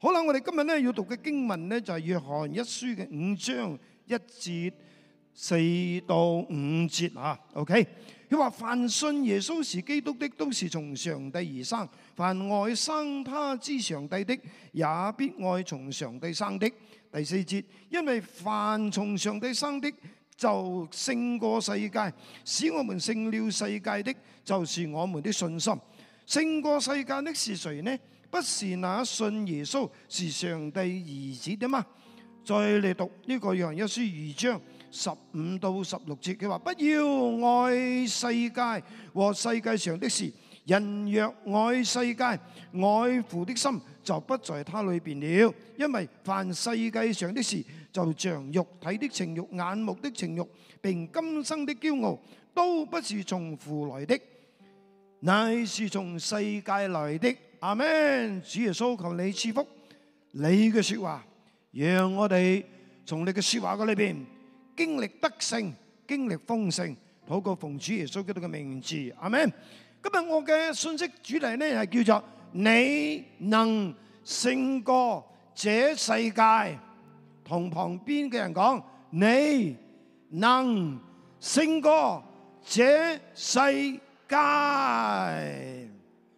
好啦，我哋今日咧要讀嘅經文咧就係約翰一書嘅5章1節4到5節啊。OK， 佢話凡信耶穌是基督的，都是從上帝而生；凡愛生他之上帝的，也必愛從上帝生的。第4節，因為凡從上帝生的，就勝過世界，使我們勝了世界的，就是我們的信心。勝過世界的是誰呢？不是那信耶穌是上帝兒子的嗎？再嚟讀呢個約翰一書2章15到16節，佢話：不要愛世界和世界上的事，人若愛世界，愛父的心就不在他裏邊了。因為凡世界上的事，就像肉體的情慾、眼目的情慾，並今生的驕傲，都不是從父來的，乃是從世界來的。阿們。主耶穌，求你賜福你嘅說話，讓我哋從你嘅說話嘅裏邊經歷得勝，經歷豐盛。禱告奉主耶穌基督嘅名字，阿們。今日我嘅信息主題呢係叫做你能勝過這世界。同旁邊嘅人講，你能勝過這世界。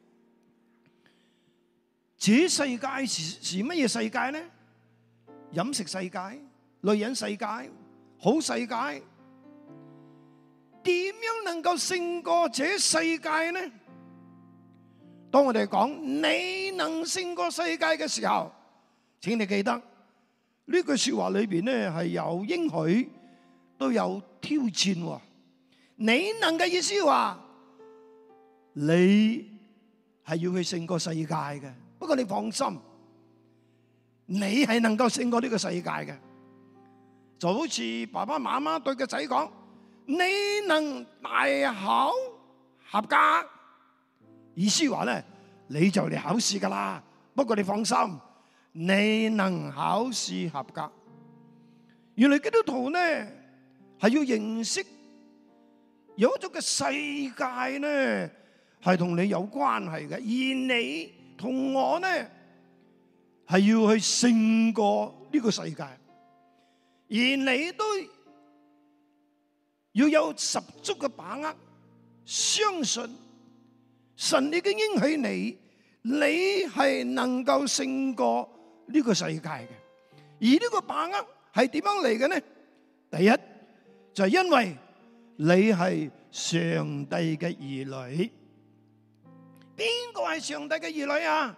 這世界是乜嘢世界呢？飲食世界、女人世界、好世界，點樣能夠勝過這世界呢？當我哋講你能勝過世界嘅時候，請你記得呢句說話裏邊呢係有應許，都有挑戰。你能嘅意思話，你係要去勝過世界嘅。不過你放心，你係能夠勝過呢個世界嘅。就好似爸爸媽媽對個仔講，你能大考合格，意思話咧，你就嚟考試噶啦。不過你放心，你能考試合格。原來基督徒呢係要認識有一種嘅世界呢係同你有關係嘅，而你同我呢係要去勝過呢個世界，而你都要有十足嘅把握，相信神已經應許你係能夠勝過呢個世界嘅。而呢個把握係點樣嚟嘅呢？第一就係因為你係上帝嘅兒女。邊個係上帝嘅兒女啊？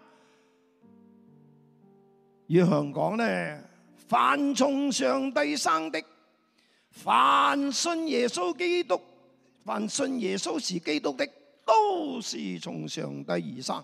約翰講咧，凡從上帝生的，凡信耶穌基督，凡信耶穌是基督的，都是從上帝而生。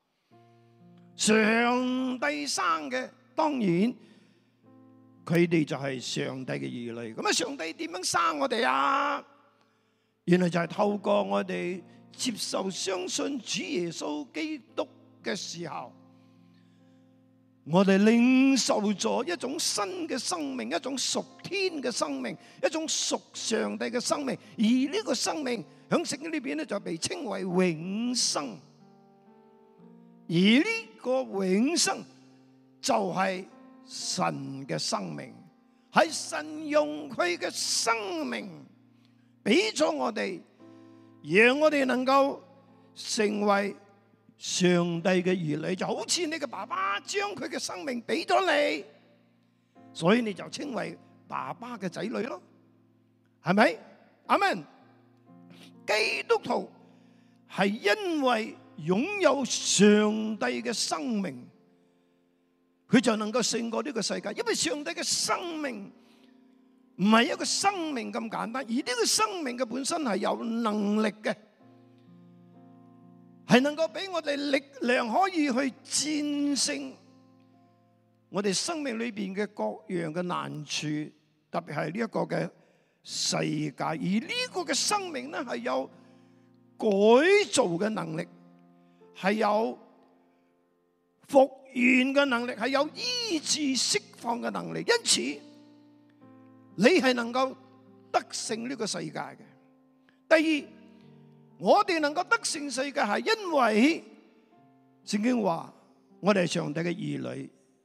上帝生嘅，當然佢哋就係上帝嘅兒女。咁啊，上帝點樣生我哋啊？原來就係透過我哋接受相信主耶穌基督嘅時候，我哋領受咗一種新嘅生命，一種屬天嘅生命，一種屬上帝嘅生命。而呢個生命喺聖經呢邊咧就被稱為永生。而呢個永生就係神嘅生命，係神用佢嘅生命俾咗我哋，讓我哋能夠成為上帝嘅兒女，就好似你嘅爸爸將佢嘅生命俾咗你，所以你就稱為爸爸嘅仔女咯，係咪？阿們。基督徒係因為擁有上帝嘅生命，佢就能夠勝過呢個世界，因為上帝嘅生命唔係一個生命咁簡單，而呢個生命嘅本身係有能力嘅，係能夠俾我哋力量可以去戰勝我哋生命裏邊嘅各樣嘅難處，特別係呢一個嘅世界。而呢個嘅生命咧係有改造嘅能力，係有復原嘅能力，係有醫治釋放嘅能力。因此你係能夠得勝呢個世界嘅。第二，我哋能夠得勝世界係因為聖經話我哋係上帝嘅兒女，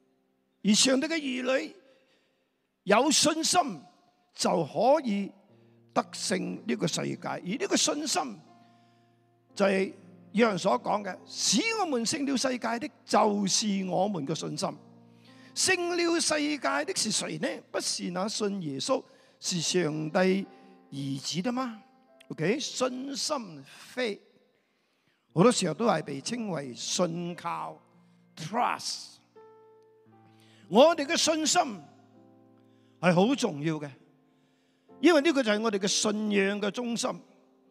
而上帝嘅兒女有信心就可以得勝呢個世界，而呢個信心就係有人所講嘅，使我們勝了世界的，就是我們嘅信心。勝了世界的是誰呢？不是那信耶穌是上帝兒子的嗎 ？OK， 信心 faith 好多時候都係被稱為信靠 trust。我哋嘅信心係好重要嘅，因為呢個就係我哋嘅信仰嘅中心。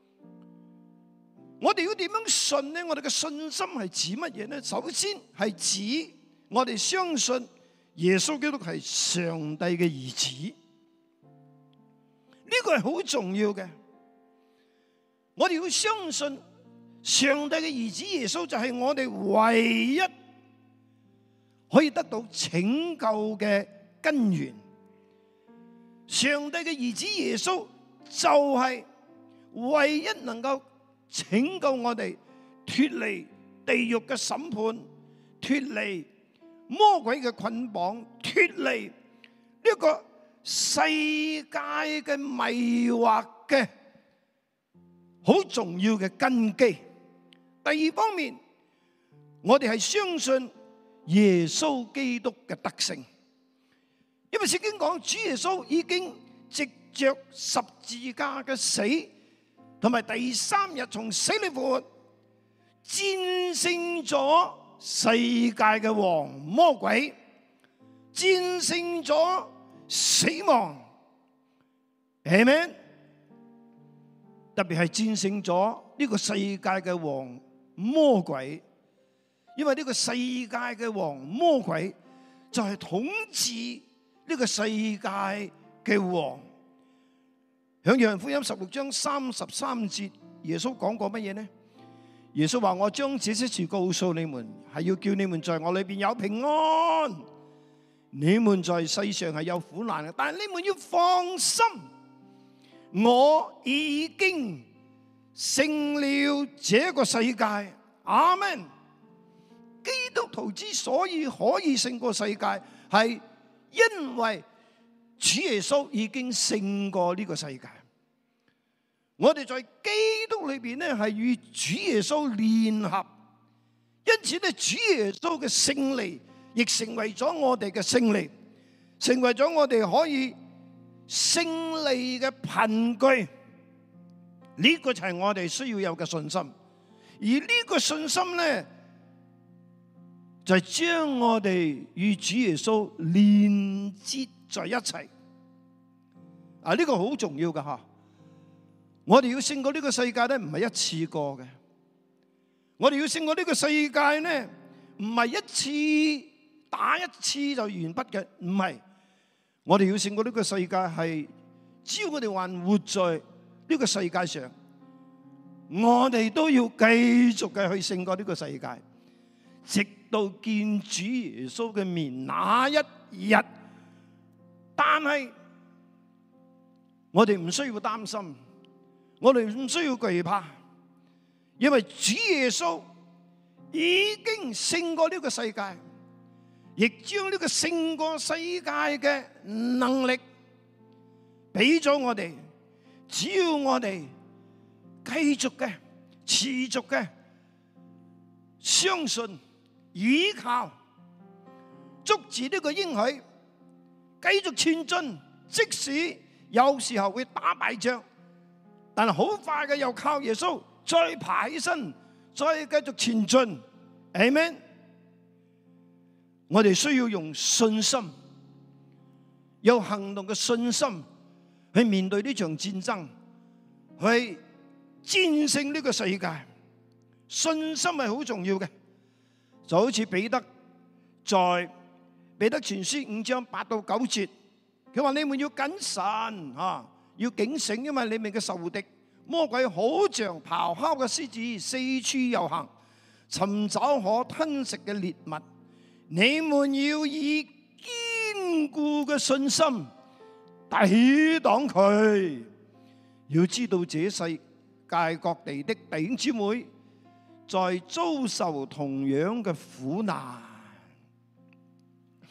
我哋要點樣信呢？我哋嘅信心係指乜嘢呢？首先係指我哋相信耶穌基督係上帝嘅兒子，呢個係好重要嘅。我哋要相信上帝嘅兒子耶穌就係我哋唯一可以得到拯救嘅根源。上帝嘅兒子耶穌就係唯一能夠拯救我哋脫離地獄嘅審判，脫離魔鬼嘅捆綁，脫離呢個世界嘅迷惑嘅好重要嘅根基。第二方面，我哋係相信耶穌基督嘅得勝，因為聖經講主耶穌已經藉着十字架嘅死，同埋第三日從死裏復活，戰勝咗世界嘅王魔鬼，戰勝咗死亡，係咪？特別係戰勝咗呢個世界嘅王魔鬼，因為呢個世界嘅王魔鬼就係統治呢個世界嘅王。喺約翰福音16章33節，耶穌講過乜嘢呢？耶穌話：我將這些事告訴你們，係要叫你們在我裏邊有平安。你們在世上係有苦難嘅，但係你們要放心，我已經勝了這個世界。阿們。基督徒之所以可以勝過世界，係因為主耶穌已經勝過呢個世界。我哋在基督裏邊咧，係與主耶穌聯合，因此咧，主耶穌嘅勝利亦成為咗我哋嘅勝利，成為咗我哋可以勝利嘅憑據。呢個就係我哋需要有嘅信心，而呢個信心咧，就係將我哋與主耶穌連接在一齊。啊，呢個好重要噶吓！我哋要勝過呢個世界咧，唔係一次過嘅。我哋要勝過呢個世界咧，唔係一次打一次就完畢嘅，唔係。我哋要勝過呢個世界係，只要我哋還活在呢個世界上，我哋都要繼續嘅去勝過呢個世界，直到見主耶穌嘅面那一日。但係我哋唔需要擔心，我哋唔需要懼怕，因為主耶穌已經勝過呢個世界，亦將呢個勝過世界嘅能力俾咗我哋。只要我哋繼續嘅、持續嘅相信、依靠，捉住呢個應許，繼續前進，即使有時候會打敗仗，但係好快嘅又靠耶穌再爬起身，再繼續前進。阿們。我哋需要用信心，有行動嘅信心去面對呢場戰爭，去戰勝呢個世界。信心係好重要嘅，就好似彼得在彼得前書5章8到9節，佢話你們要謹慎要警醒，因為你們嘅仇敵魔鬼好像咆哮嘅獅子，四處遊行，尋找可吞食嘅獵物。你們要以堅固嘅信心抵擋佢。要知道這世界各地的弟兄姊妹在遭受同樣嘅苦難。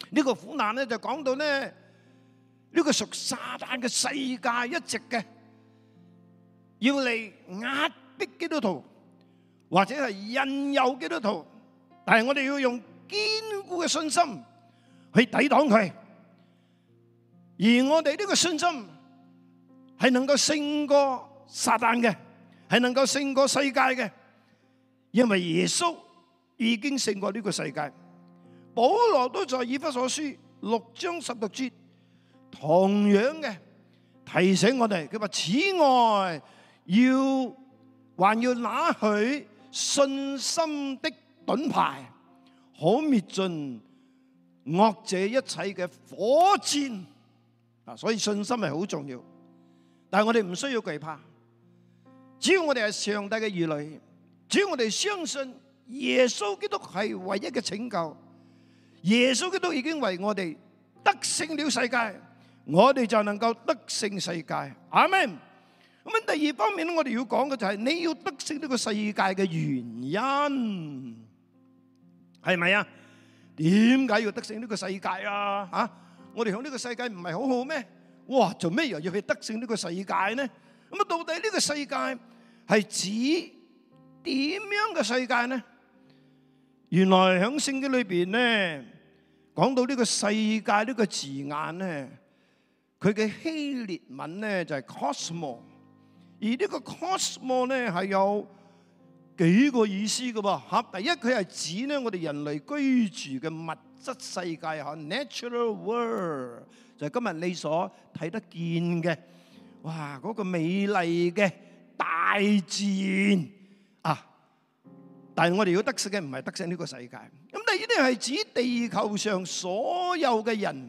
呢個苦難咧就講到咧呢個屬撒旦嘅世界一直嘅要嚟壓迫基督徒，或者係引誘基督徒，但係我哋要用堅固嘅信心去抵擋佢，而我哋呢個信心係能夠勝過撒旦嘅，係能夠勝過世界嘅，因為耶穌已經勝過呢個世界。保羅都在以弗所書6章16節同樣嘅提醒我哋，佢話此外還要拿去信心的盾牌，好滅盡惡者一切嘅火箭。所以信心係好重要，但係我哋唔需要懼怕，只要我哋係上帝嘅兒女，只要我哋相信耶穌基督係唯一嘅拯救，耶穌基督已經為我哋得勝了世界，我哋就能夠得勝世界。阿們。咁第二方面咧，我哋要講嘅就係你要得勝呢個世界嘅原因係咪啊？點解要得勝呢個世界啊？吓，我哋響呢個世界唔係好好咩？哇，做咩又要去得勝呢個世界呢？咁啊，到底呢個世界係指點樣嘅世界呢？原來響聖經裏邊咧，講到呢個世界呢個字眼咧，佢嘅希臘文咧就係 cosmo。而呢個 cosmo 咧係有幾個意思嘅噃嚇。第一，佢係指咧我哋人類居住嘅物質世界嚇 ，natural world 就係今日你所睇得見嘅，哇嗰個美麗嘅大自然啊！但係我哋要得勝嘅唔係得勝呢個世界。咁第二咧係指地球上所有嘅人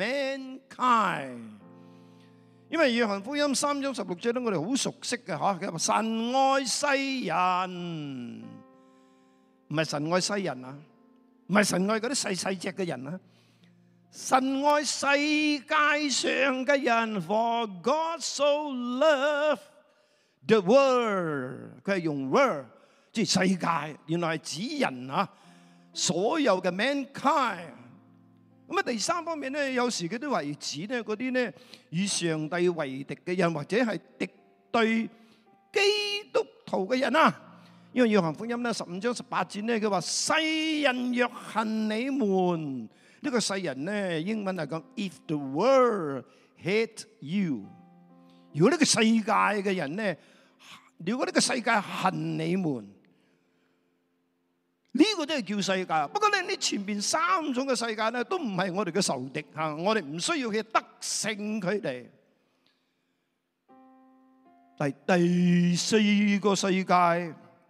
mankind。因為約翰福音3章16節咧，我哋好熟悉嘅嚇，佢話神愛世人，唔係神愛西人啊，唔係神愛嗰啲細細隻嘅人啊，神愛世界上嘅人。For God so loved the world， 佢係用 world 即係世界，原來係指人啊，所有嘅 mankind。咁啊，第三方面咧，有時佢都係指咧嗰啲咧與上帝為敵嘅人，或者係敵對基督徒嘅人啊。因為約翰福音咧15章18節咧，佢話世人若恨你們，呢個世人咧英文係講 if the world hate you。如果呢個世界嘅人咧，如果呢個世界恨你們，呢個都係叫世界。不過咧，呢前邊三種嘅世界咧，都唔係我哋嘅仇敵嚇，我哋唔需要去得勝佢哋。第四個世界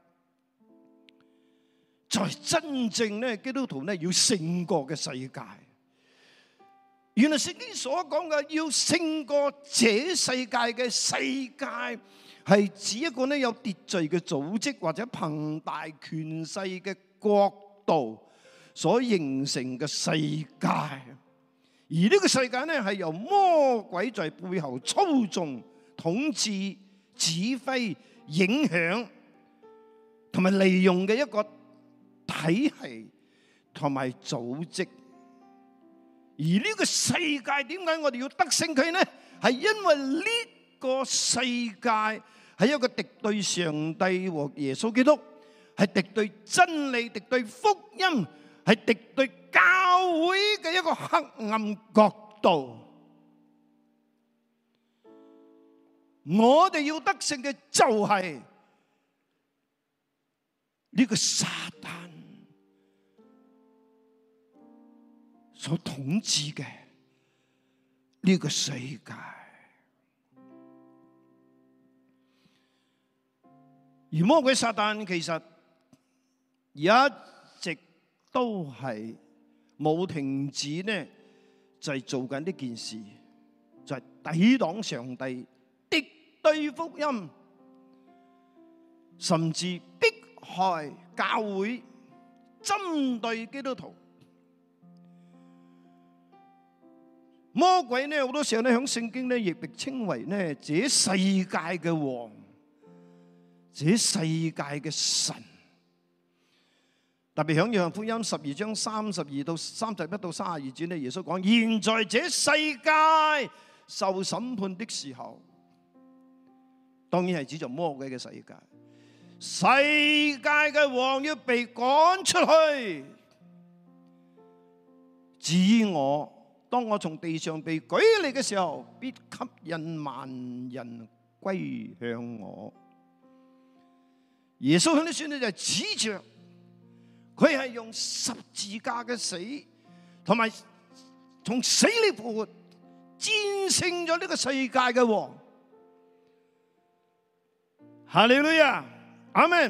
就係真正咧基督徒咧要勝過嘅世界。原來聖經所講嘅要勝過這世界嘅世界，係指一個咧有秩序嘅組織或者龐大權勢嘅國度所形成嘅世界。而呢個世界咧係由魔鬼在背後操縱、統治、指揮、影響同埋利用嘅一個體系同埋組織。而呢個世界點解我哋要得勝佢呢？係因為呢個世界係一個敵對上帝和耶穌基督，係敵對真理、敵對福音、係敵對教會嘅一個黑暗國度。我哋要得勝嘅就係呢個撒旦所統治嘅呢個世界。而魔鬼撒旦其實一直都係冇停止呢，就係做緊呢件事，就係抵擋上帝、敵對福音，甚至迫害教會、針對基督徒。魔鬼呢好多時候呢響聖經呢亦被稱為呢這世界嘅王，這世界嘅神。 特別響約翰福音12章32到31到32節咧，耶穌講：現在這世界受審判的時候，當然係指著魔鬼嘅世界。世界嘅王要被趕出去。至於我，當我從地上被舉嚟嘅時候，必吸引萬人歸向我。耶穌喺呢書呢就指着佢係用十字架嘅死，同埋從死裏復活，戰勝咗呢個世界嘅王。哈利路亞，阿門。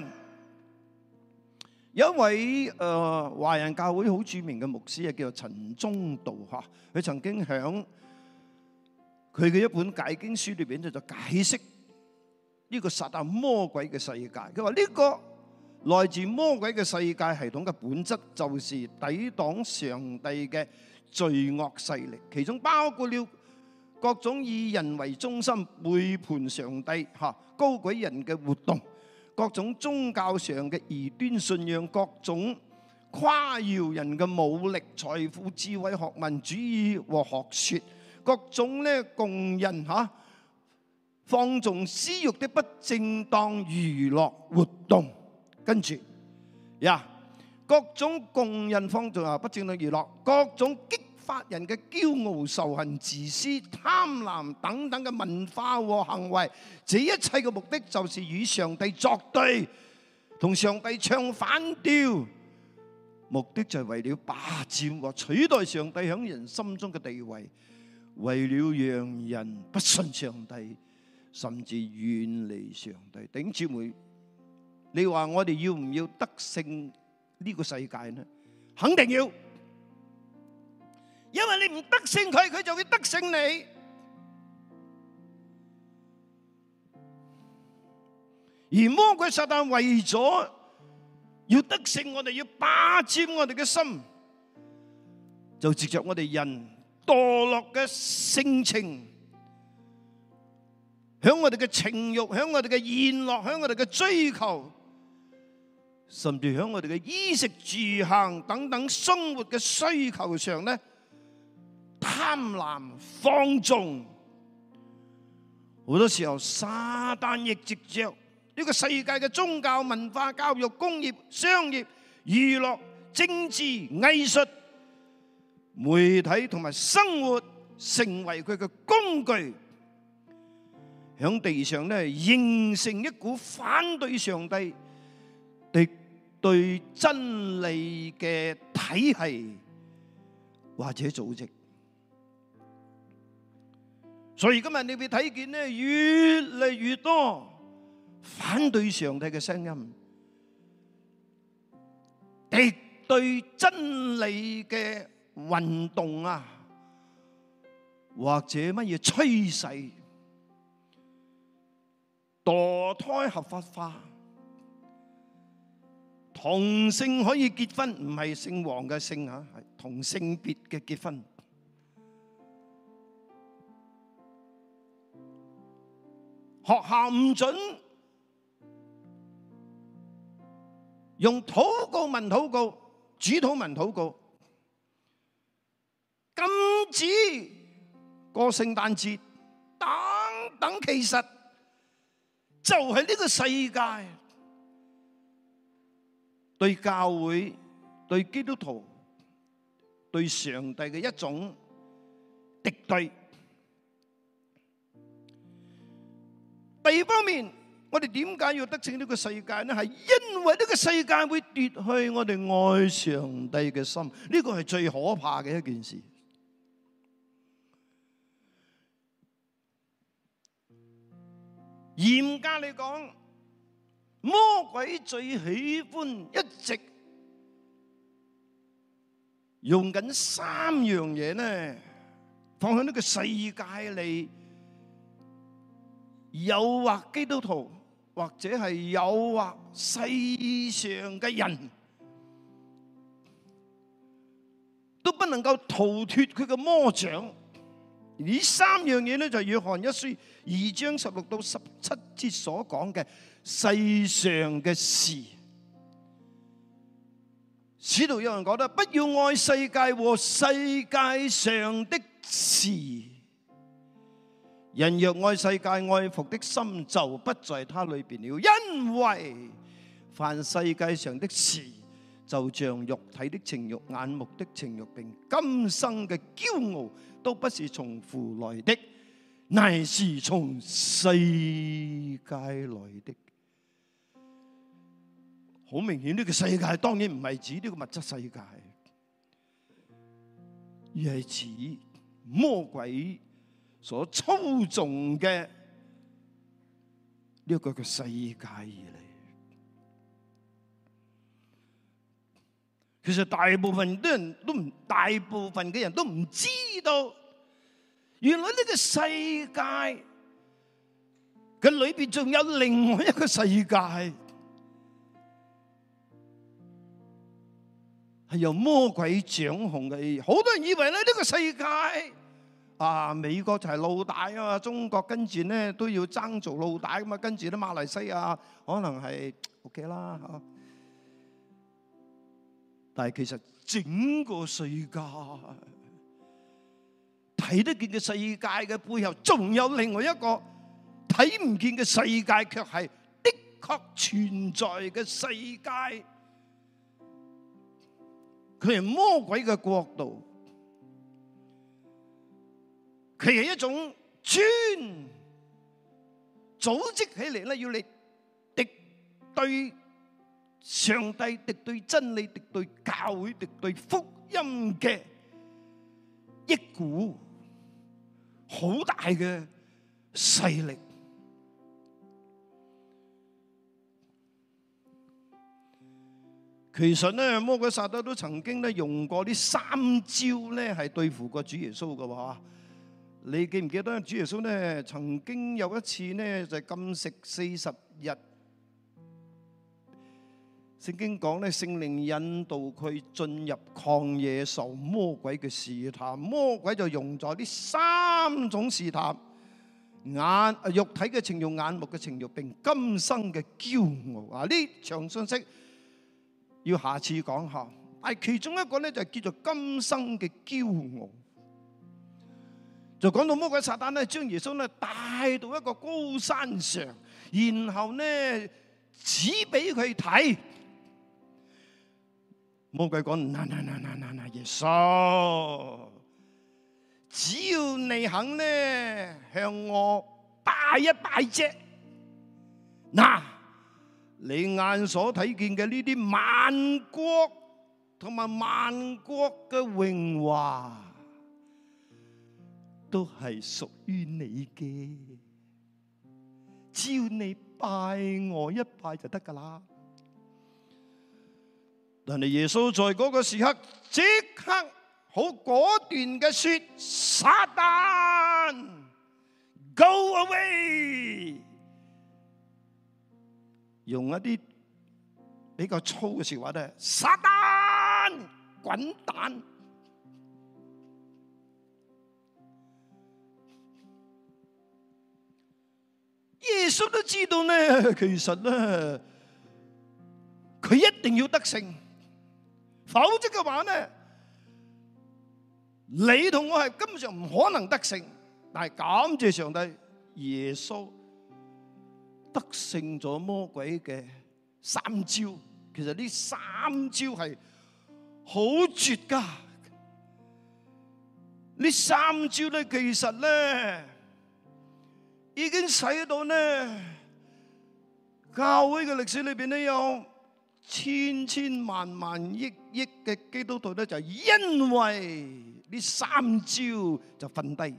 有一位華人教會好著名嘅牧師叫做陳宗道嚇，佢曾經響佢嘅一本解經書裏邊就解釋呢個撒旦魔鬼嘅世界。佢話呢個來自魔鬼嘅世界系統嘅本質就是抵擋上帝嘅罪惡勢力，其中包括了各種以人為中心、背叛上帝、高舉人嘅活動，各種宗教上嘅異端信仰，各種誇耀人嘅武力、財富、智慧、學問主義和學說，各種咧供人放縱私欲的不正當娛樂活動。跟住各種供人放縱不正當娛樂，各種激發人嘅驕傲、仇恨、自私、貪婪等等嘅文化和行為，這一切嘅目的就是與上帝作對，同上帝唱反調，目的就係為了霸佔和取代上帝喺人心中嘅地位，為了讓人不信上帝，甚至遠離上帝。弟兄姊妹，你話我哋要唔要得勝呢個世界呢？肯定要。因為你唔得勝佢，佢就會得勝你。而魔鬼撒旦為咗要得勝我哋，要霸佔我哋嘅心，就藉着我哋人墮落嘅性情，響我哋嘅情慾，響我哋嘅宴樂，響我哋嘅追求，甚至響我哋嘅衣食住行等等生活嘅需求上咧，貪婪放縱。好多時候撒旦亦藉着呢個世界嘅宗教、文化、教育、工業、商業、娛樂、政治、藝術、媒體同埋生活，成為佢嘅工具，響地上咧形成一股反對上帝、敵對真理嘅體系或者組織。所以今日你會睇見咧，越嚟越多反對上帝嘅聲音，敵對真理嘅運動啊，或者乜嘢趨勢，墮胎合法化，同性可以結婚，唔係姓黃嘅姓啊，係同性別嘅結婚。學校唔准用禱告文禱告、主禱文禱告，禁止過聖誕節等等，其實就係呢個世界對教會、對基督徒、對上帝嘅一種敵對。第二方面，我哋點解要得勝呢個世界呢？係因為呢個世界會奪去我哋愛上帝嘅心，呢個係最可怕嘅一件事。嚴格嚟講，魔鬼最喜歡一直用緊三樣嘢呢，放喺呢個世界嚟誘惑基督徒，或者係誘惑世上嘅人，都不能夠逃脫佢嘅魔掌。呢三樣嘢咧，就係約翰一書2章16到17節所講嘅世上嘅事。 使徒有人講得，不要愛世界和世界上的事。人若愛世界，愛父的心就不在他裏邊了。因為凡世界上的事，就像肉體的情欲、眼目的情欲，並今生嘅驕傲，都不是從父來的，乃是從世界來的。好明顯，呢個世界當然唔係指呢個物質世界，而係指魔鬼所操縱嘅呢個嘅世界而嚟。其實大部分嘅人都唔知道，原來呢個世界嘅裏邊仲有另外一個世界。係由魔鬼掌控嘅，好多人以為咧呢個世界美國就係老大啊嘛，中國跟住咧都要爭做老大咁啊，跟住咧馬來西亞可能係 OK 啦嚇。但係其實整個世界睇得見嘅世界嘅背後，仲有另外一個睇唔見嘅世界，卻係的確存在嘅世界。佢係魔鬼嘅國度，佢係一種專組織起嚟咧，要嚟敵對上帝、敵對真理、敵對教會、敵對福音嘅一股好大嘅勢力。其實咧，魔鬼撒旦都曾經咧用過呢3招咧，係對付過主耶穌嘅喎。你記唔記得主耶穌咧曾經有一次咧就禁食40日？聖經講咧，聖靈引導佢進入曠野受魔鬼嘅試探。魔鬼就用咗呢3種試探：肉體嘅情慾、眼目嘅情慾，並今生嘅驕傲。呢場信息要下次講下，但係其中一個咧就叫做今生嘅驕傲，就講到魔鬼撒旦咧將耶穌咧帶到一個高山上，然後咧指俾佢睇。魔鬼講：嗱，耶穌，只要你肯咧向我拜一拜啫，嗱。你眼所睇見嘅呢啲萬國同埋萬國嘅榮華，都係屬於你嘅。只要你拜我一拜就得噶啦。但係耶穌在嗰個時刻即刻好果斷嘅說：撒旦 ，Go away！用一啲比較粗嘅説話咧，撒旦滾蛋！耶穌都知道咧，其實咧佢一定要得勝，否則嘅話咧，你同我係根本上唔可能得勝。但係感謝上帝，耶穌得勝咗魔鬼嘅3招，其實呢3招係好絕噶。呢3招咧，其實咧已經使到咧教會嘅歷史裏邊咧有千千萬萬億億嘅基督徒咧，就因為呢3招就瞓低。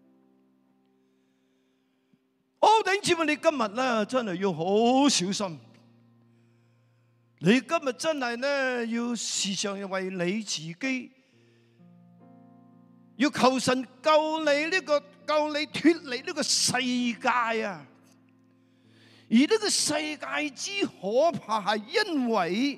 弟兄姊妹，你今日咧真係要好小心。你今日真係咧要時常為你自己，要求神救你救你脫離呢個世界啊！而呢個世界之可怕係因為，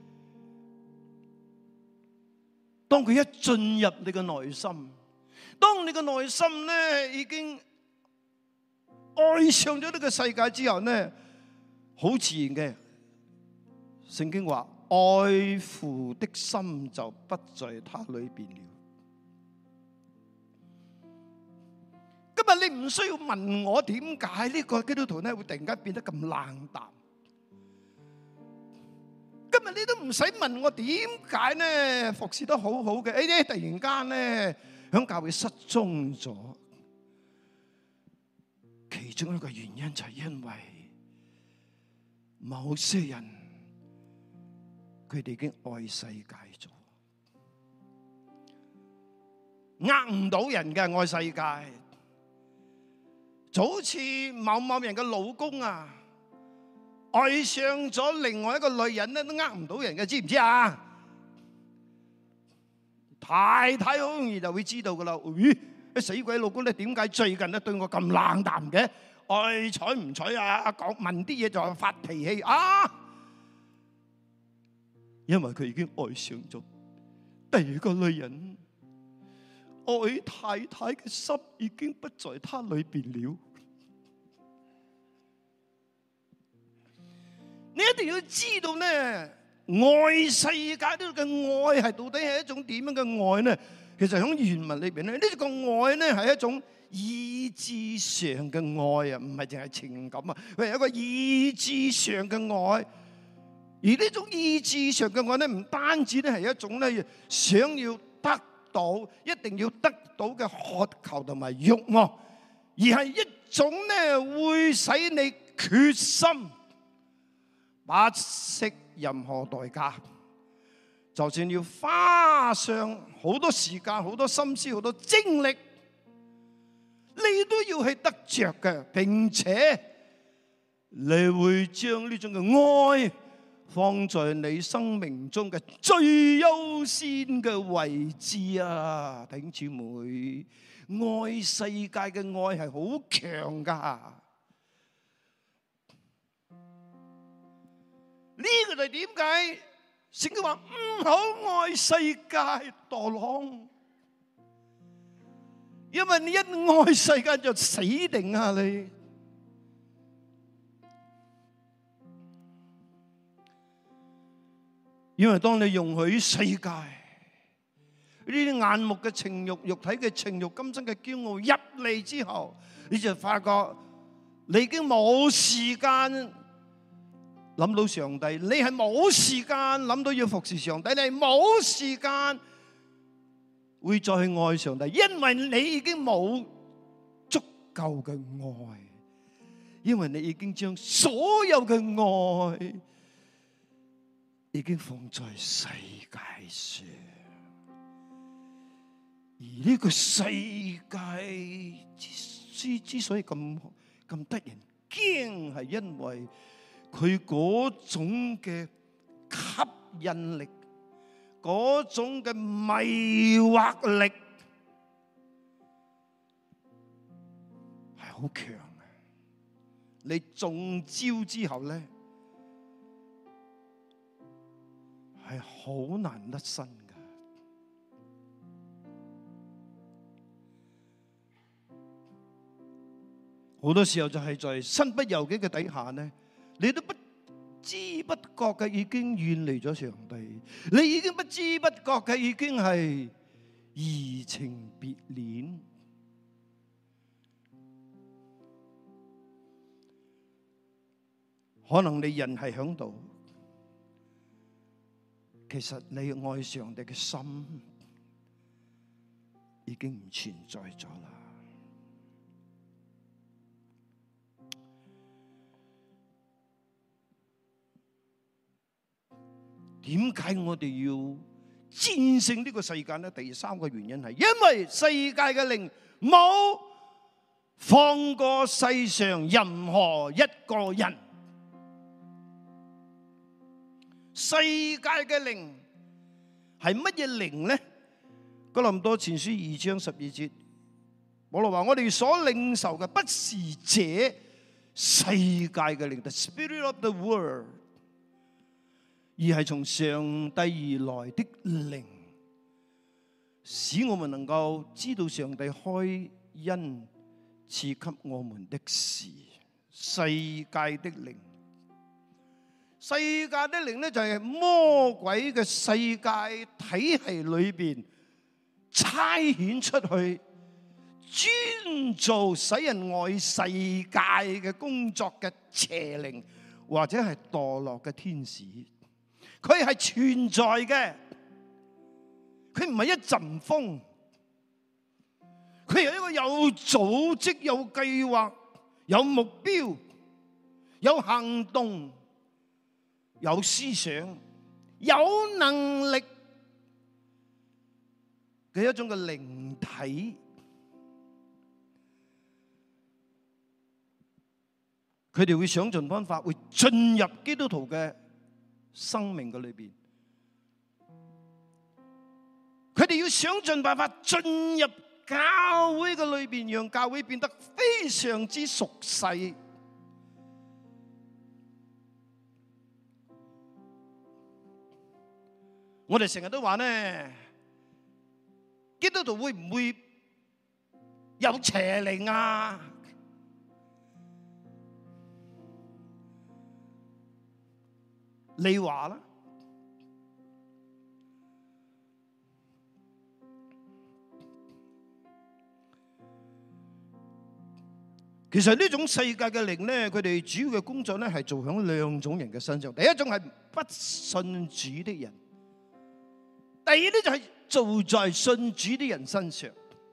當佢一進入你嘅內心，當你嘅內心咧已經愛上咗呢個世界之後呢，好自然嘅，聖經話愛父的心就不在他裏邊了。今日你唔需要問我點解呢個基督徒咧會突然間變得咁冷淡。今日你都唔使問我點解咧服侍得好好嘅，突然間咧響教會失蹤咗。其中一個原因就係因為某些人佢哋已經愛世界咗，呃唔到人嘅愛世界。就好似某某人嘅老公啊，愛上咗另外一個女人咧，都呃唔到人嘅，知唔知啊？太太好容易就會知道噶啦。咦，死鬼老公咧，點解最近咧對我咁冷淡嘅？愛睬唔睬啊？講問啲嘢就發脾氣啊！因為佢已經愛上咗第二個女人，愛太太嘅心已經不在他裏邊了。你一定要知道咧，愛世界呢個愛係到底係一種點樣嘅愛呢？其實喺原文裏邊咧，呢個愛呢係一種意志上嘅愛啊，唔係淨係情感啊，佢係一個意志上嘅愛。而呢種意志上嘅愛咧，唔單止咧係一種咧想要得到，一定要得到嘅渴求同埋慾望，而係一種咧會使你決心不惜任何代價，就算要花上好多時間、好多心思、好多精力，你都要去得着嘅，並且你會將呢種嘅愛放在你生命中嘅最優先嘅位置啊！弟兄姊妹，愛世界嘅愛係好強噶。呢個就係點解聖經話唔好愛世界墮浪，因為你一愛世界就死定啊！你因為當你容許世界呢啲眼目嘅情慾、肉體嘅情慾、今生嘅驕傲入嚟之後，你就發覺你已經冇時間諗到上帝，你係冇時間諗到要服侍上帝，你係冇時間會再去愛上帝，因為你已經冇足夠嘅愛，因為你已經將所有嘅愛已經放在世界上，而呢個世界之所以咁得人驚，係因為佢嗰種嘅吸引力，嗰種嘅迷惑力係好強嘅。你中招之後咧，係好難甩身噶。好多時候就係在身不由己嘅底下咧，你都不知不覺嘅已經遠離咗上帝，你已經不知不覺嘅已經係移情別戀。可能你人係響度，其實你愛上帝嘅心已經唔存在咗啦。點解我哋要戰勝呢個世界呢？第三個原因係因為世界嘅靈冇放過世上任何一個人。世界嘅靈係乜嘢靈呢？哥林多前書2章12節，保羅話：我哋所領受嘅不是這世界嘅靈 ，the spirit of the world，而係從上帝而來的靈，使我們能夠知道上帝開恩賜給我們的事。世界的靈， 世界的靈咧就係魔鬼嘅世界體系裏邊差遣出去，專做使人愛世界嘅工作嘅邪靈，或者係墮落嘅天使。佢係存在嘅，佢唔係一陣風，佢係一個有組織、有計劃、有目標、有行動、有思想、有能力嘅一種嘅靈體。佢哋會想盡方法，會進入基督徒嘅生命嘅裏邊。佢哋要想盡辦法進入教會嘅裏邊，讓教會變得非常之熟悉。我哋成日都話呢，基督徒會唔會有邪靈啊？你話啦，其實呢種世界嘅靈咧，佢哋主要嘅工作咧係做響兩種人嘅身上。第一種係不信主的人，第二咧就係做在信主的人身上。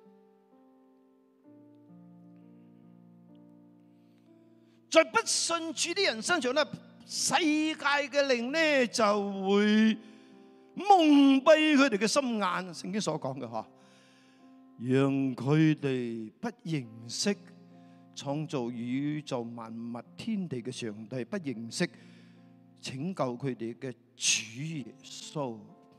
在不信主的人身上咧，世界嘅靈咧就會蒙蔽佢哋嘅心眼，聖經所講嘅嗬，讓佢哋不認識創造宇宙萬物天地嘅上帝，不認識拯救佢哋嘅主耶穌。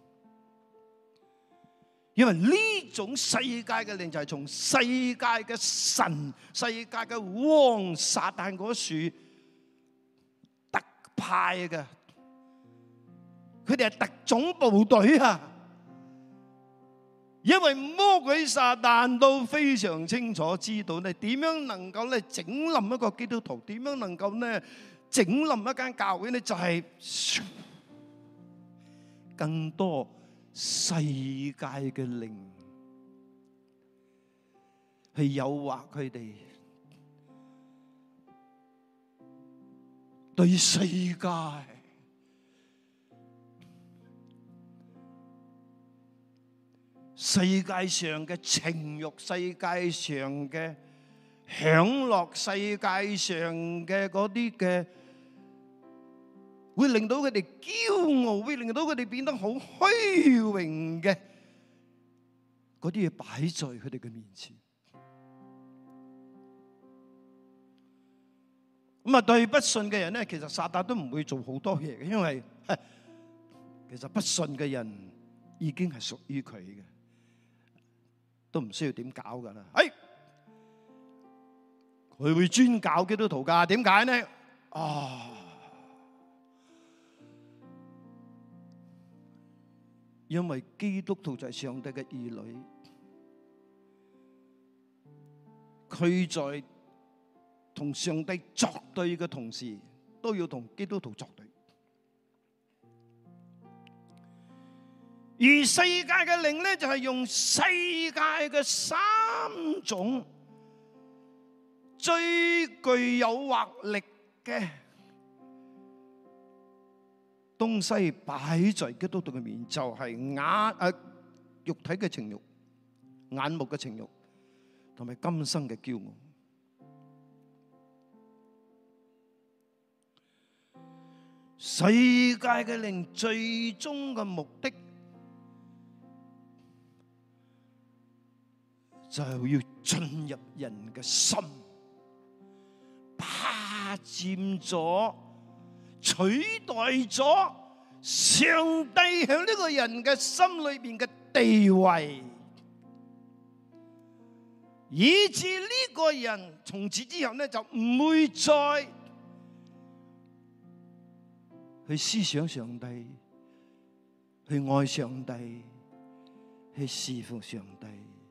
因為呢種世界嘅靈就係從世界嘅神、世界嘅王撒旦嗰處派嘅，佢哋係特種部隊啊！因為魔鬼撒旦都非常清楚知道咧，點樣能夠咧整冧一個基督徒，點樣能夠咧整冧一間教會咧，就係更多世界嘅靈去誘惑佢哋。對世界、世界上嘅情慾、世界上嘅享樂、世界上嘅嗰啲嘅，會令到佢哋驕傲，會令到佢哋變得好虛榮嘅嗰啲嘢擺在佢哋嘅面前。咁啊，對不信嘅人咧，其實撒旦都唔會做好多嘢嘅，因為其實不信嘅人已經係屬於佢嘅，都唔需要點搞噶啦。佢會專搞基督徒噶，點解呢？因為基督徒就係上帝嘅兒女，佢在同上帝作對嘅同時，都要同基督徒作對。而世界嘅靈咧，就係用世界嘅三種最具誘惑力嘅東西擺在基督徒嘅面，就係肉體嘅情慾、眼目嘅情慾，同埋今生嘅驕傲。世界嘅靈最終嘅目的就係要進入人嘅心，霸佔咗、取代咗上帝喺呢個人嘅心裏邊嘅地位，以致呢個人從此之後呢，就唔會再去思想上帝，去愛上帝，去侍奉上帝，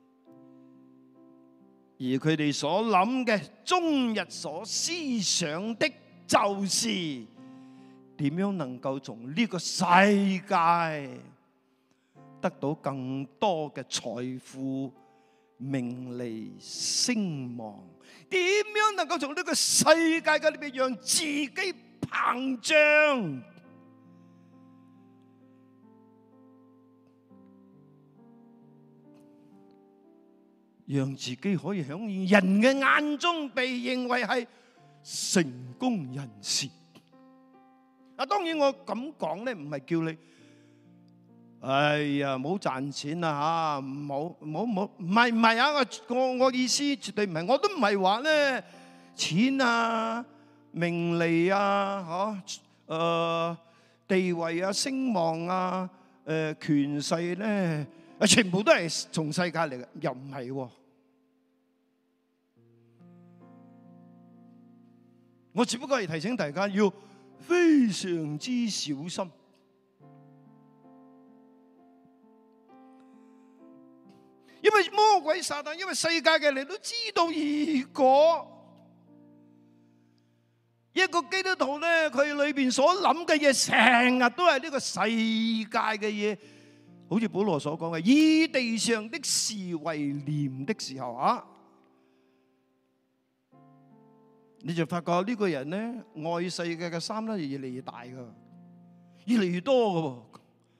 而佢哋所諗嘅終日所思想的，就是點樣能夠從呢個世界得到更多嘅財富、名利、聲望？點樣能夠從呢個世界嘅裏邊讓自己膨脹？讓自己可以喺人嘅眼中被認為係成功人士。當然我咁講咧，唔係叫你，哎呀，唔好賺錢啦嚇，唔好，唔係啊！我意思絕對唔係，我都唔係話咧錢啊、名利啊、地位啊、聲望啊、權勢咧，全部都係從世界嚟嘅，又唔係喎。我只不過係提醒大家要非常之小心，因為魔鬼撒旦，因為世界嘅人都知道，如果一個基督徒咧，佢裏邊所諗嘅嘢成日都係呢個世界嘅嘢，好似保羅所講嘅，以地上的事為念的時候啊，你就發覺呢個人咧愛世界嘅心咧越嚟越大噶，越嚟越多噶。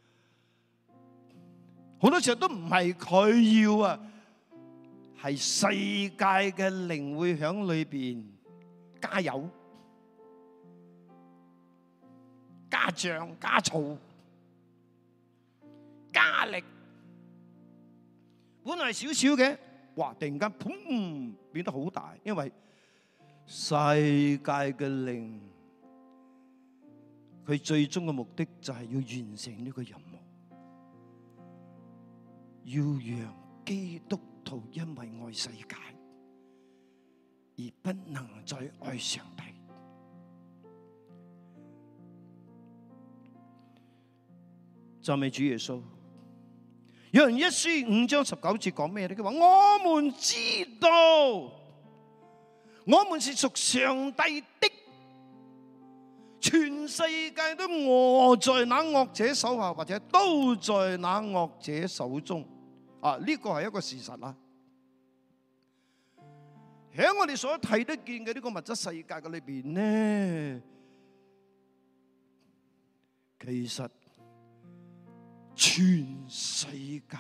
好多時候都唔係佢要啊，係世界嘅靈會響裏邊加油、加醬、加醋、加力。本來少少嘅，哇！突然間砰變得好大，因為世界嘅靈，佢最終嘅目的就係要完成呢個任務，要讓基督徒因為愛世界而不能再愛上帝。讚美主耶穌。約翰一書5章19節講咩咧？佢話我們知道，我們是屬上帝的，全世界都臥在那惡者手下，或者都在那惡者手中。呢個係一個事實啦。喺我哋所睇得見嘅呢個物質世界嘅裏邊呢，其實全世界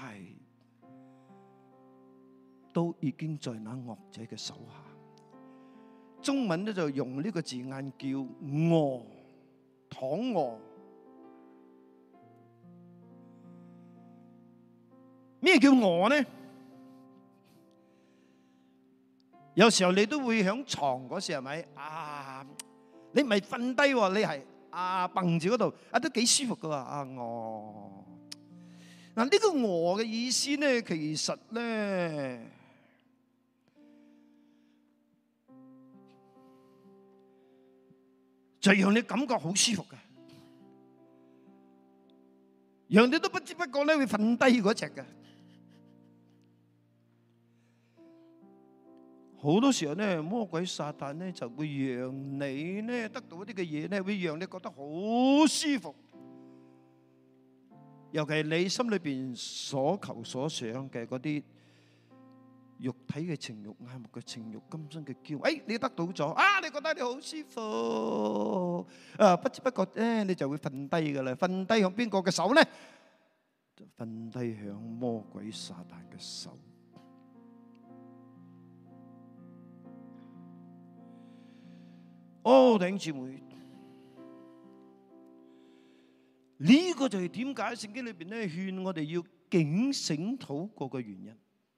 都已經在那惡者嘅手下。中文咧就用呢個字眼叫餓，躺餓。咩叫餓呢？有時候你都會響床嗰時係咪？你唔係瞓低喎，你係蹦住嗰度，都幾舒服噶喎。餓。嗱，呢個餓嘅意思咧，其實咧就讓你感覺好舒服嘅，讓你都不知不覺咧會瞓低嗰隻嘅。好多時候咧，魔鬼撒旦咧就會讓你咧得到一啲嘅嘢咧，會讓你覺得好舒服。尤其係你心裏邊所求所想嘅嗰啲肉體嘅情慾、眼目嘅情慾、今生嘅驕傲，你得到咗，你覺得你好舒服，不知不覺咧你就會瞓低噶啦。瞓低響邊個嘅手咧？就瞓低響魔鬼撒旦嘅手。弟兄姊妹，呢個就係點解聖經裏邊咧勸我哋要警醒禱告嘅原因。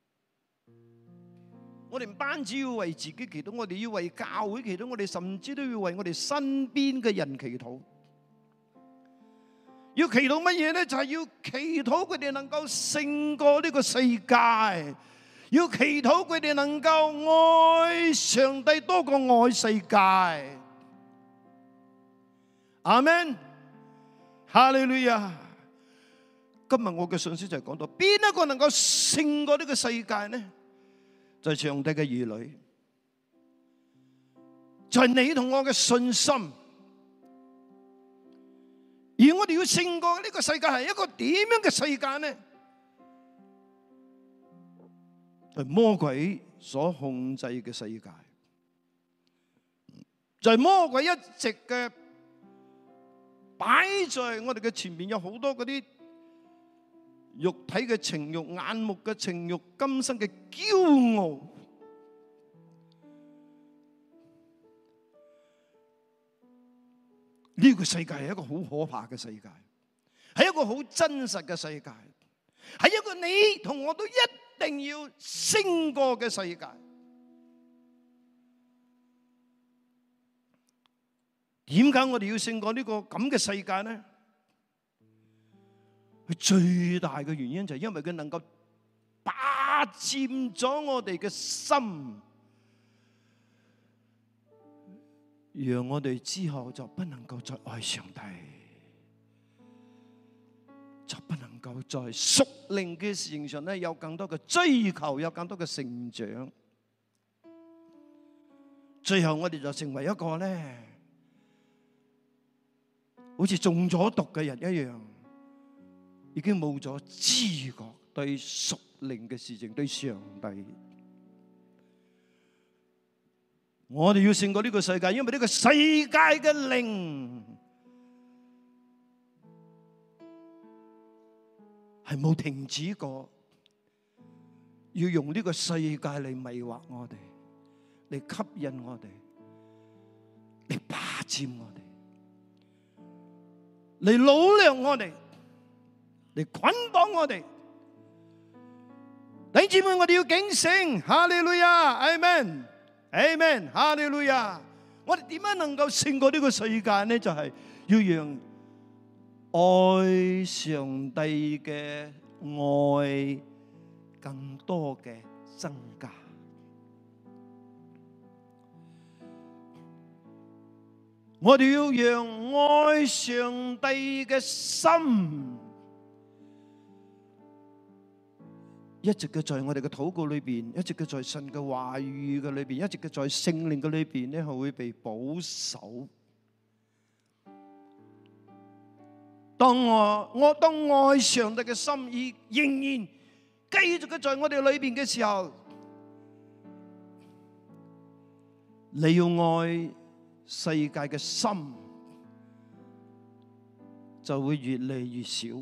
我哋唔單止要為自己祈禱，我哋要為教會祈禱，我哋甚至都要為我哋身邊嘅人祈禱。要祈禱乜嘢咧？就係要祈禱佢哋能夠勝過呢個世界，要祈禱佢哋能夠愛上帝多過愛世界。阿們，哈利路亞。今日我嘅信息就係講到邊一個能夠勝過呢個世界呢？就係上帝嘅兒女，就係你同我嘅信心。 而我哋要勝過呢個世界係一個點樣嘅世界呢？係魔鬼所控制嘅世界，就係魔鬼一直嘅擺在我哋嘅前面，有好多嗰啲肉體嘅情慾、眼目嘅情慾、今生嘅驕傲。呢個世界係一個好可怕嘅世界，係一個好真實嘅世界，係一個你同我都一定要勝過嘅世界。點解我哋要勝過呢個咁嘅世界呢？佢最大嘅原因就係因為佢能夠霸佔咗我哋嘅心，讓我哋之後就不能夠再愛上帝，就不能夠在屬靈嘅事情上咧有更多嘅追求，有更多嘅成長。最後我哋就成為一個咧，好似中咗毒嘅人一樣，已經冇咗知覺對屬靈嘅事情，對上帝。我哋要勝過呢個世界，因為呢個世界嘅靈係冇停止過，要用呢個世界嚟迷惑我哋，嚟吸引我哋，嚟霸佔我哋，嚟擄掠我哋，嚟捆綁我哋。弟兄姊妹，我哋要警醒，哈利路亞，阿們。Amen， 哈利路亞！我哋點樣能夠勝過呢個世界呢？就係要讓愛上帝嘅愛更多嘅增加。我哋要讓愛上帝嘅心一直嘅在我哋嘅禱告裏邊，一直嘅在神嘅話語嘅裏邊，一直嘅在聖靈嘅裏邊咧，係會被保守。當愛上帝嘅心意仍然繼續嘅在我哋裏邊嘅時候，你要愛世界嘅心就會越嚟越少。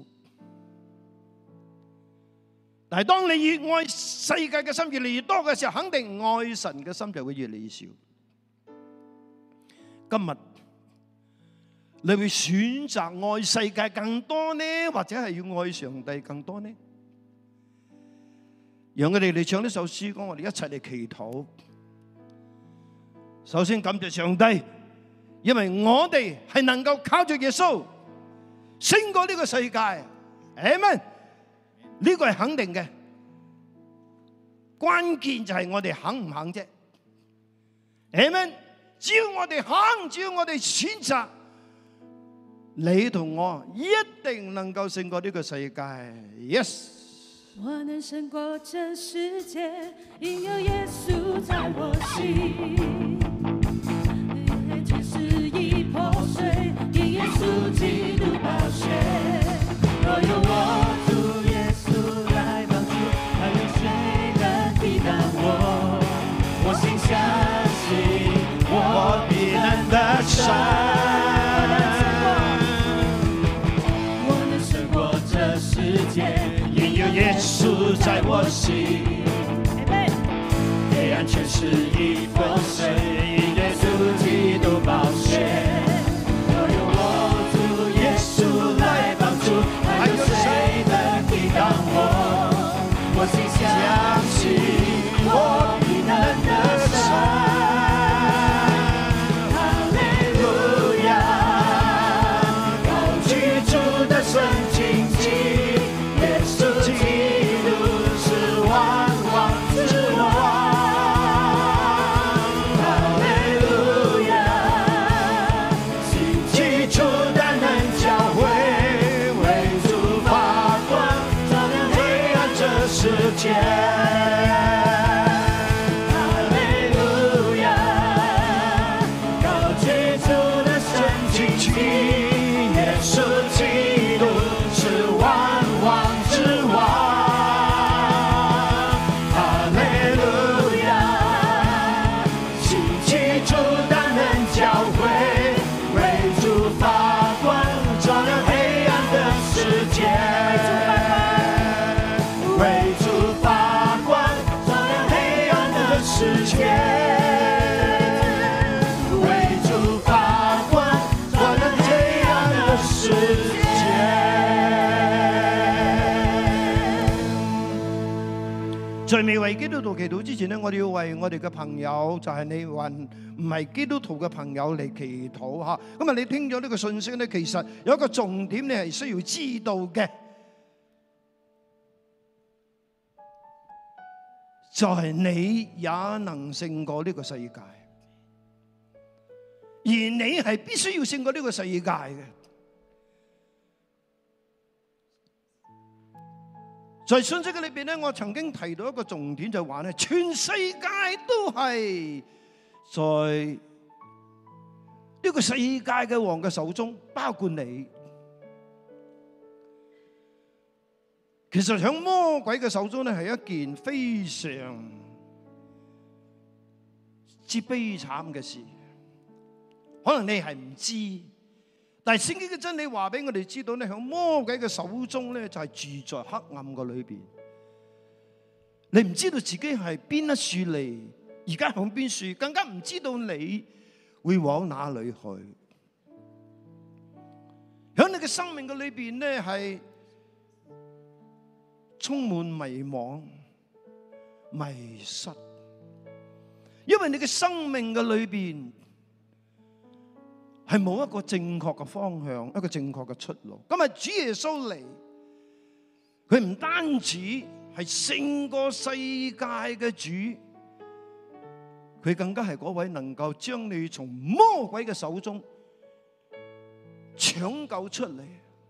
但係當你越愛世界嘅心越嚟越多嘅時候，肯定愛神嘅心就會越嚟越少。今日你會選擇愛世界更多呢，或者係要愛上帝更多呢？讓我哋嚟唱呢首詩歌，我哋一齊嚟祈禱。首先感謝上帝，因為我哋係能夠靠住耶穌勝過呢個世界。阿們。呢個係肯定嘅，關鍵就係我哋肯唔肯啫。阿們，只要我哋肯，只要我哋選擇，你同我一定能夠勝過呢個世界。Yes。 我能勝過這世界，因有耶穌在我心。天使已破碎，因耶穌基督寶血。若有我。我心相信，我必能得勝。我能勝過這世界，因有耶穌在我心。黑暗權勢已破碎，因耶穌基督寶血。若有我主耶穌來幫助，還有誰能抵擋我？我心相信，我必能得勝。哈利路亞，高舉主的聖經記，耶穌基督是萬王之王。哈世界，为主发光，照亮黑暗的世界。 在未為基督徒祈禱之前呢，我哋要為我哋嘅朋友，就係你還唔係基督徒嘅朋友嚟祈禱嚇。咁啊，你聽咗呢個信息咧，其實有一個重點你係需要知道嘅，就係你也能勝過呢個世界，而你係必須要勝過呢個世界嘅。在信息嘅裏邊咧，我曾經提到一個重點，就係話咧，全世界都係在呢個世界嘅王嘅手中，包括你。其實喺魔鬼嘅手中咧，係一件非常之悲慘嘅事。可能你係唔知，但係聖經嘅真理話俾我哋知道咧，喺魔鬼嘅手中咧，就係住在黑暗嘅裏邊。你唔知道自己係邊一樹嚟，而家響邊樹，更加唔知道你會往哪裏去。喺你嘅生命嘅裏邊咧，係充滿迷惘、迷失，因為你嘅生命嘅裏邊係冇一個正確嘅方向，一個正確嘅出路。今日主耶穌嚟，佢唔單止係勝過世界嘅主，佢更加係嗰位能夠將你從魔鬼嘅手中搶救出嚟，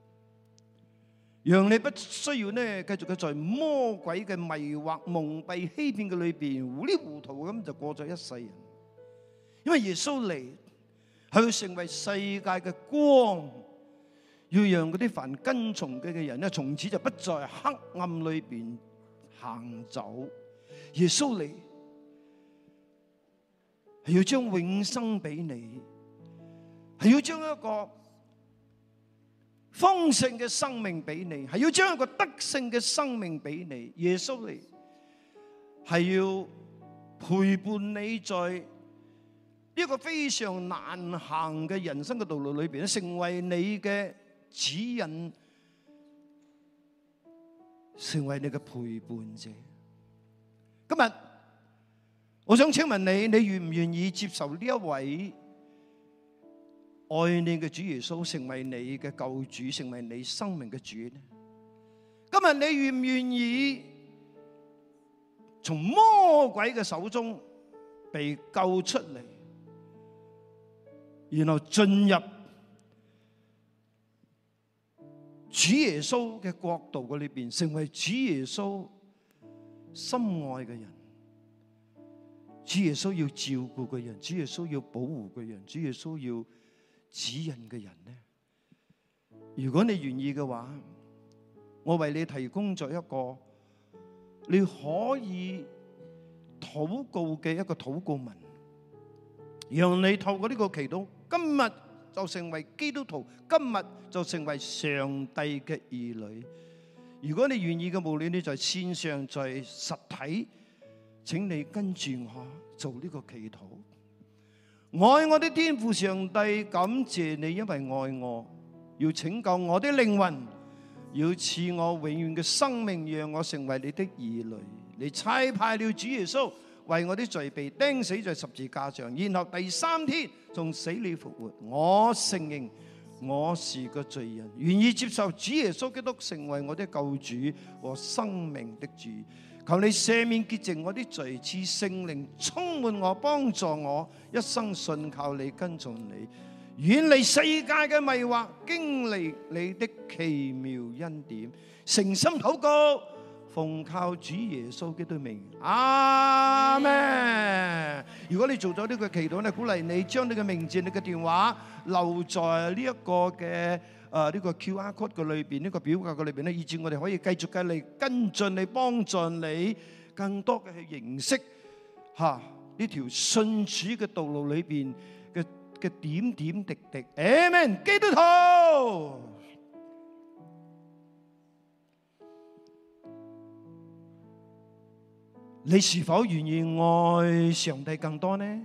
讓你不需要呢繼續嘅在魔鬼嘅迷惑、蒙蔽、欺騙嘅裏邊糊裡糊塗咁就過咗一世人。因為耶穌嚟係要成為世界嘅光，要讓嗰啲凡跟從佢嘅人咧，從此就不在黑暗裏邊行走。耶穌嚟係要將永生俾你，係要將一個豐盛嘅生命俾你，係要將一個得勝嘅生命俾你。耶穌嚟係要陪伴你在呢個非常難行嘅人生嘅道路裏邊，成為你嘅指引，成為你嘅陪伴者。今日我想請問你，你願唔願意接受呢一位愛你嘅主耶穌成為你嘅救主，成為你生命嘅主呢？今日你願唔願意從魔鬼嘅手中被救出嚟，然後進入主耶穌嘅國度嘅裏邊，成為主耶穌心愛嘅人，主耶穌要照顧嘅人，主耶穌要保護嘅人，主耶穌要指引嘅人呢？如果你願意嘅話，我為你提供咗一個你可以禱告嘅一個禱告文，讓你透過呢個祈禱，今日就成為基督徒，今日就成為上帝嘅兒女。如果你願意嘅，無論你在線上在實體，請你跟住我做呢個祈禱。愛我的天父上帝，感謝你，因為愛我，要拯救我的靈魂，要賜我永遠嘅生命，讓我成為你的兒女。你差派了主耶穌為我的罪被釘死在十字架上，然後第三天從死裏復活。我承認我是個罪人，願意接受主耶穌基督成為我的救主和生命的主。求你赦免潔淨我的罪，賜聖靈充滿我，幫助我一生信靠你，跟從你，遠離世界嘅迷惑，經歷你的奇妙恩典。誠心禱告，奉靠主耶穌基督名，阿們。如果你做咗呢個祈禱咧，鼓勵你將你嘅名字、你嘅電話留在呢一個嘅呢個 QR code 嘅裏邊，呢個表格嘅裏邊咧，以至我哋可以繼續嘅嚟跟進你，幫助你更多嘅去認識呢條信主嘅道路裏邊嘅點點滴滴。阿們，基督徒。 你是否願意愛上帝更多呢？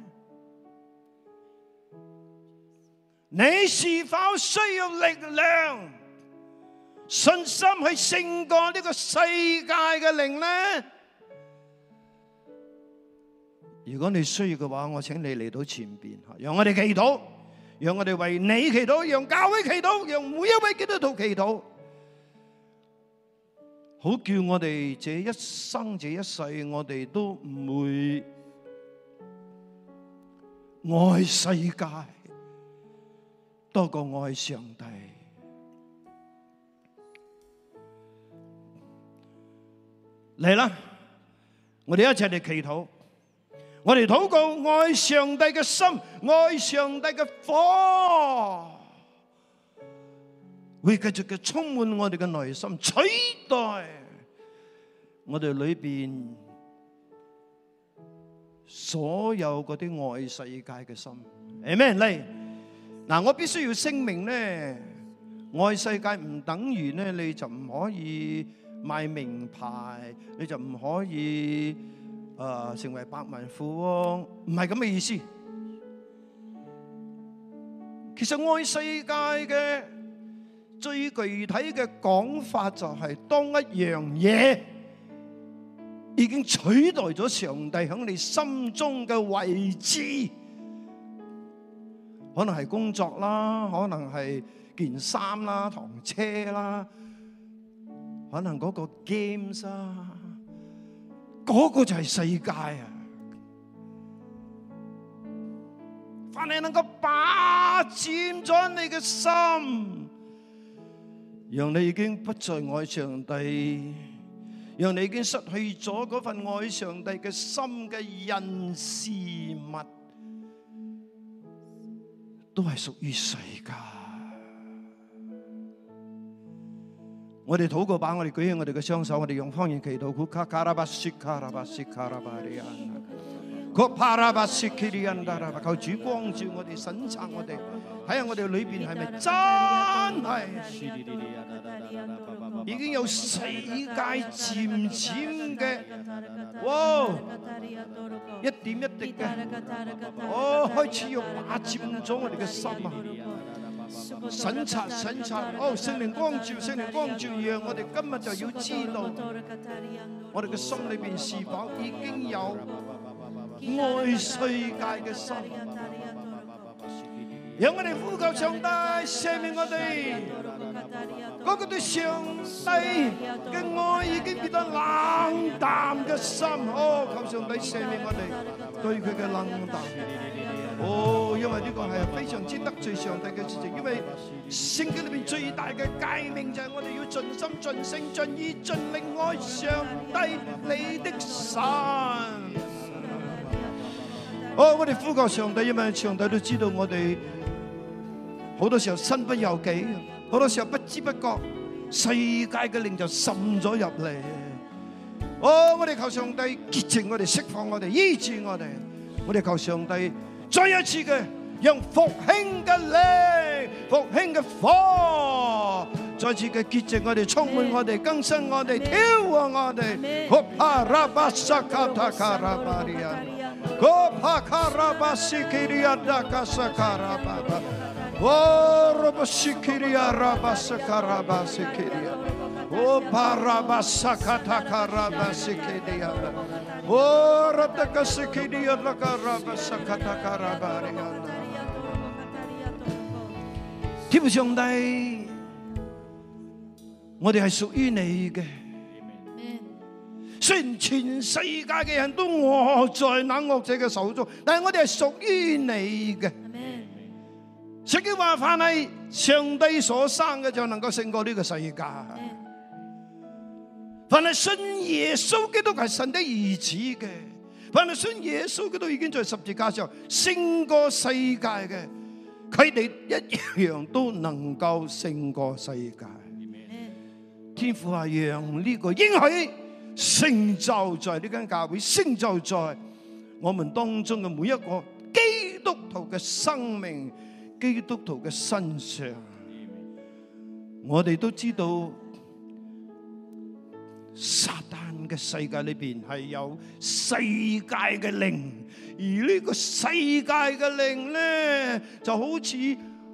你是否需要力量、信心去勝過呢個世界嘅靈呢？如果你需要嘅話，我請你嚟到前邊，讓我哋祈禱，讓我哋為你祈禱，讓教會祈禱，讓每一位基督徒祈禱，好叫我哋這一生這一世，我哋都唔會愛世界多過愛上帝。嚟啦，我哋一齊嚟祈禱。我哋禱告，愛上帝嘅心，愛上帝嘅火，會繼續嘅充滿我哋嘅內心，取代我哋裏邊所有嗰啲愛世界嘅心。Amen。嚟，嗱，我必須要聲明咧，愛世界唔等於咧你就唔可以買名牌，你就唔可以成為百萬富翁，唔係咁嘅意思。其實愛世界嘅最具體嘅講法就係，當一樣嘢已經取代咗上帝喺你心中嘅位置，可能係工作啦，可能係件衫啦、堂車啦，可能嗰個 games 啊。嗰個就係世界啊！凡係能夠霸佔咗你嘅心，讓你已經不再愛上帝，讓你已經失去咗嗰份愛上帝嘅心嘅人事物，都係屬於世界。我哋禱告吧，我哋舉起我哋嘅雙手，我哋用方言祈禱。求主光照我哋，審察我哋，睇下我哋裏邊係咪真係已經有世界漸漸嘅，哇，一點一滴嘅，開始要霸佔咗我哋嘅心啊！審察，聖靈光照，讓我哋今日就要知道，我哋嘅心裏邊是否已經有愛世界嘅心。讓我哋呼求上帝赦免我哋嗰個對上帝嘅愛已經變得冷淡嘅心。求上帝赦免我哋對佢嘅冷淡。因為呢個係非常之得罪上帝嘅事情，因為聖經裏邊最大嘅誡命就係我哋要盡心、盡性、盡意、盡力愛上帝你的神。我哋呼求上帝，因為上帝都知道我哋好多時候身不由己，好多時候不知不覺世界嘅靈就滲咗入嚟。我哋求上帝潔淨我哋，釋放我哋，醫治我哋。我哋求上帝再一次嘅讓復興嘅靈、復興嘅火，再次嘅潔淨我哋，充滿我哋，更新我哋，挑旺我哋。天父上帝，我哋係屬於你嘅。雖然全世界嘅人都握在那惡者嘅手中，但係我哋係屬於你嘅。聖經話，凡係上帝所生嘅就能夠勝過呢個世界。凡係信耶穌基督係神的兒子嘅，凡係信耶穌基督已經在十字架上勝過世界嘅，佢哋一樣都能夠勝過世界。天父啊，讓呢個應許成就在呢間教會，成就在我們當中嘅每一個基督徒嘅生命、基督徒嘅身上。我哋都知道撒旦嘅世界裏邊係有世界嘅靈，而呢個世界嘅靈咧就好似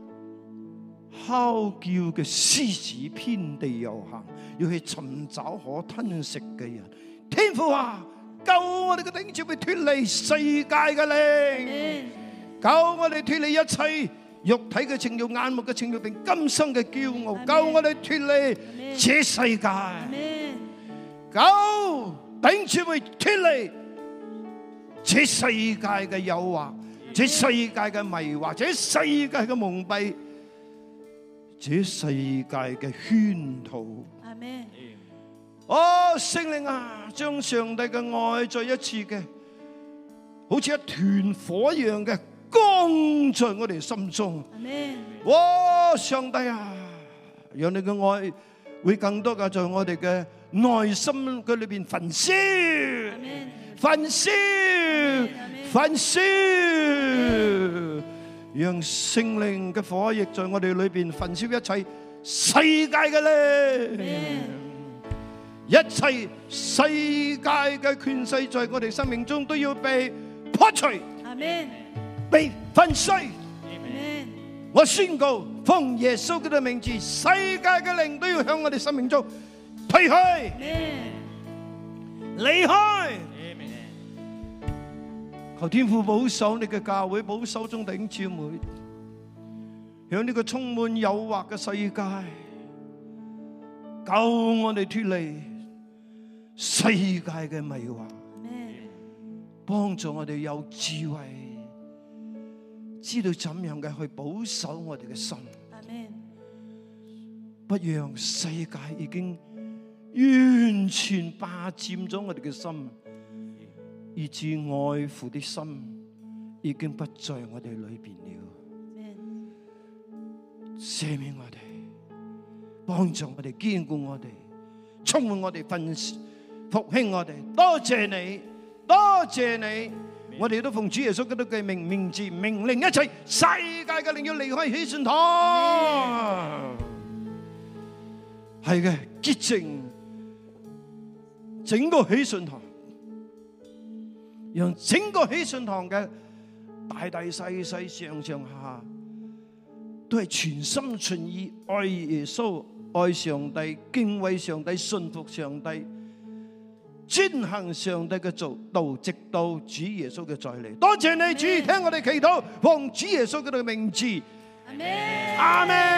嚎叫嘅獅子，遍地遊行，要去尋找可吞食嘅人。天父啊，救我哋嘅弟兄姊妹脫離世界嘅靈，救我哋脫離一切肉體嘅情慾、眼目嘅情慾，並今生嘅驕傲，救我哋脫離這世界，救弟兄姊妹脫離這世界嘅誘惑，這世界嘅迷惑，這世界嘅蒙蔽，這世界嘅圈套。 阿們。 哦，聖靈啊，將上帝嘅愛再一次嘅，好似一團火一樣嘅光在我哋心中。 阿們。 哇，上帝啊，讓你嘅愛會更多嘅在我哋嘅內心嘅裏邊焚燒，焚燒，焚燒，讓聖靈嘅火液在我哋裏邊焚燒一切世界嘅靈，一切世界嘅權勢在我哋生命中都要被破除，被粉碎。我宣告，奉耶穌基督嘅名字，世界嘅靈都要向我哋生命中退去、離開。求天父保守你嘅教會，保守眾弟兄姊妹，向呢個充滿誘惑嘅世界，救我哋脫離世界嘅迷惑，幫助我哋有智慧，知道怎樣嘅去保守我哋嘅心，不讓世界已經完全霸佔咗我哋嘅心，以致愛父的心已經不在我哋裏邊了。赦免我哋，幫助我哋，堅固我哋，充滿我哋，復興我哋。多謝你，多謝你。我哋都奉主耶穌基督嘅名字命令一切世界嘅靈要離開喜信堂。係嘅，潔淨整個喜信堂，讓整個喜信堂嘅大大細細、上上下下都係全心全意愛耶穌、愛上帝、敬畏上帝、信服上帝、遵行上帝嘅道，直到主耶穌嘅再嚟。多謝你，主，聽我哋祈禱，奉主耶穌嘅名字，阿們。